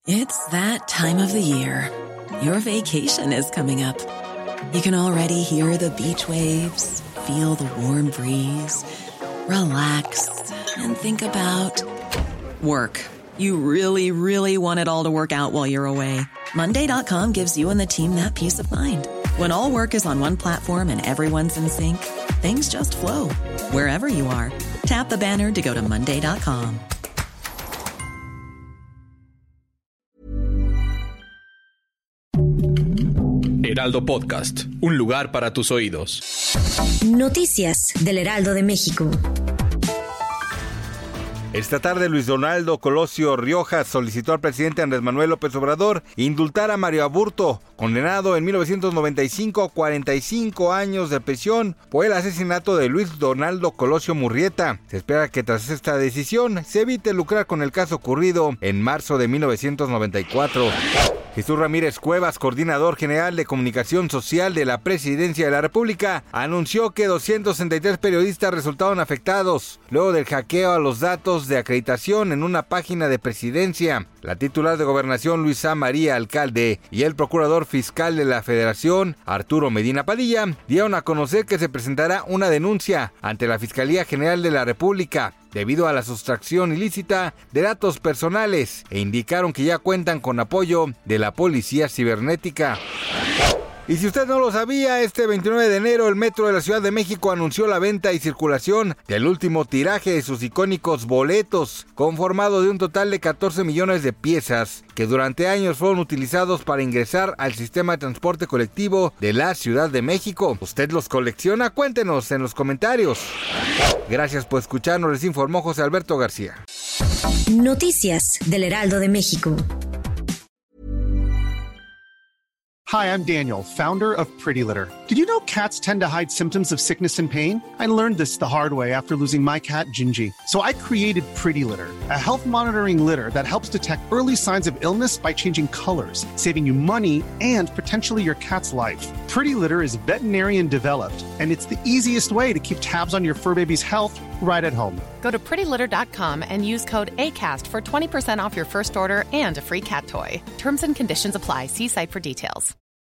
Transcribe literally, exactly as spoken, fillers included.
It's that time of the year. Your vacation is coming up. You can already hear the beach waves, feel the warm breeze, relax, and think about work. You really, really want it all to work out while you're away. Monday dot com gives you and the team that peace of mind. When all work is on one platform and everyone's in sync, things just flow. Wherever you are, tap the banner to go to Monday dot com. Heraldo Podcast, un lugar para tus oídos. Noticias del Heraldo de México. Esta tarde Luis Donaldo Colosio Riojas solicitó al presidente Andrés Manuel López Obrador indultar a Mario Aburto, condenado en mil novecientos noventa y cinco a cuarenta y cinco años de prisión por el asesinato de Luis Donaldo Colosio Murrieta. Se espera que tras esta decisión se evite lucrar con el caso ocurrido en marzo de mil novecientos noventa y cuatro. Jesús Ramírez Cuevas, coordinador general de comunicación social de la Presidencia de la República, anunció que doscientos sesenta y tres periodistas resultaron afectados luego del hackeo a los datos de acreditación en una página de Presidencia. La titular de Gobernación, Luisa María Alcalde, y el procurador fiscal de la Federación, Arturo Medina Padilla, dieron a conocer que se presentará una denuncia ante la Fiscalía General de la República debido a la sustracción ilícita de datos personales, e indicaron que ya cuentan con apoyo de la Policía Cibernética. Y si usted no lo sabía, este veintinueve de enero el Metro de la Ciudad de México anunció la venta y circulación del último tiraje de sus icónicos boletos, conformado de un total de catorce millones de piezas, que durante años fueron utilizados para ingresar al sistema de transporte colectivo de la Ciudad de México. ¿Usted los colecciona? Cuéntenos en los comentarios. Gracias por escucharnos, les informó José Alberto García. Noticias del Heraldo de México. Hi, I'm Daniel, founder of Pretty Litter. Did you know cats tend to hide symptoms of sickness and pain? I learned this the hard way after losing my cat, Gingy. So I created Pretty Litter, a health monitoring litter that helps detect early signs of illness by changing colors, saving you money and potentially your cat's life. Pretty Litter is veterinarian developed, and it's the easiest way to keep tabs on your fur baby's health right at home. Go to pretty litter dot com and use code ACAST for twenty percent off your first order and a free cat toy. Terms and conditions apply. See site for details.